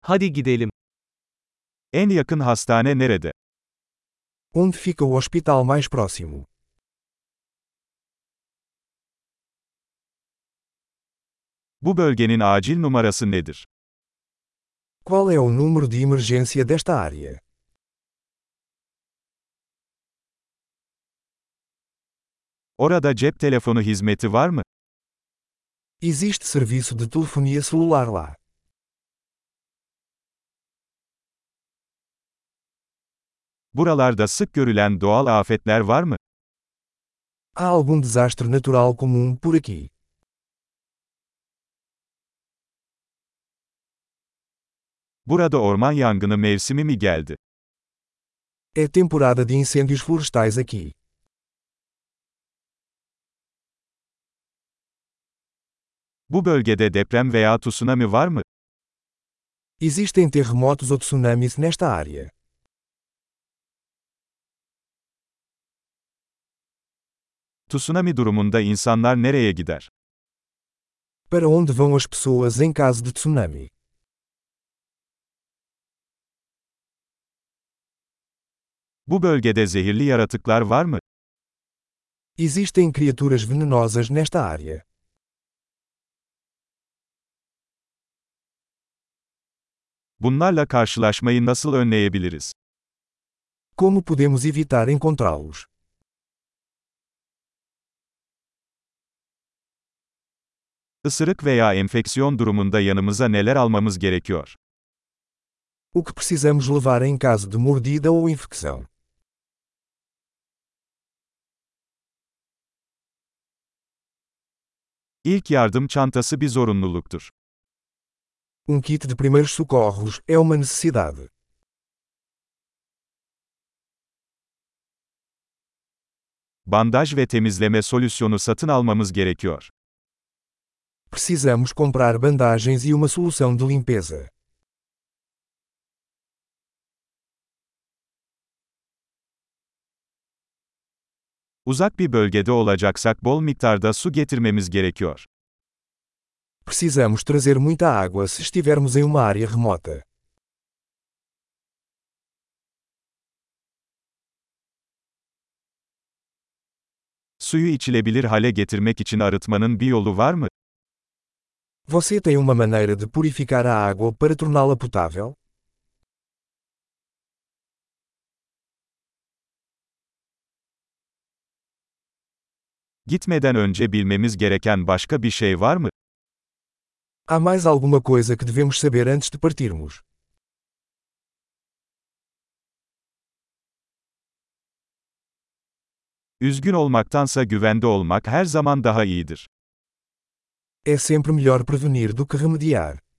Hadi gidelim. En yakın hastane nerede? Onde fica o hospital mais próximo? Bu bölgenin acil numarası nedir? Qual é o número de emergência desta área? Orada cep telefonu hizmeti var mı? Existe serviço de telefonia celular lá? Buralarda sık görülen doğal afetler var mı? Há algum desastre natural comum por aqui? Burada orman yangını mevsimi mi geldi? É temporada de incêndios florestais aqui. Bu bölgede deprem veya tsunami var mı? Existem terremotos ou tsunamis nesta área? Tsunami durumunda insanlar nereye gider? Para onde vão as pessoas em caso de tsunami? Bu bölgede zehirli yaratıklar var mı? Existem criaturas venenosas nesta área? Bunlarla karşılaşmayı nasıl önleyebiliriz? Como podemos evitar encontrá-los? Isırık veya enfeksiyon durumunda yanımıza neler almamız gerekiyor? O que precisamos levar em caso de mordida ou infecção? İlk yardım çantası bir zorunluluktur. Kit de primeiros socorros é uma necessidade. Bandaj ve temizleme solüsyonu satın almamız gerekiyor. Precisamos comprar bandagens e uma solução de limpeza. Uzak bir bölgede olacaksak bol miktarda su getirmemiz gerekiyor. Precisamos trazer muita água se estivermos em uma área remota. Suyu içilebilir hale getirmek için arıtmanın bir yolu var mı? Você tem uma maneira de purificar a água para torná-la potável? Gitmeden önce bilmemiz gereken başka bir şey var mı? Há mais alguma coisa que devemos saber antes de partirmos? Üzgün olmaktansa güvende olmak her zaman daha iyidir. É sempre melhor prevenir do que remediar.